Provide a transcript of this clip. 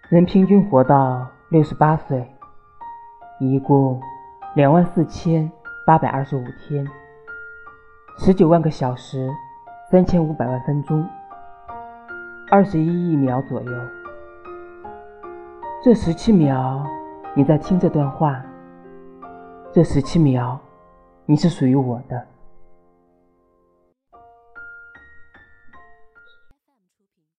人平均活到68岁，一共24825天，19万个小时，3500万分钟，21亿秒左右。这17秒你在听这段话，这17秒你是属于我的。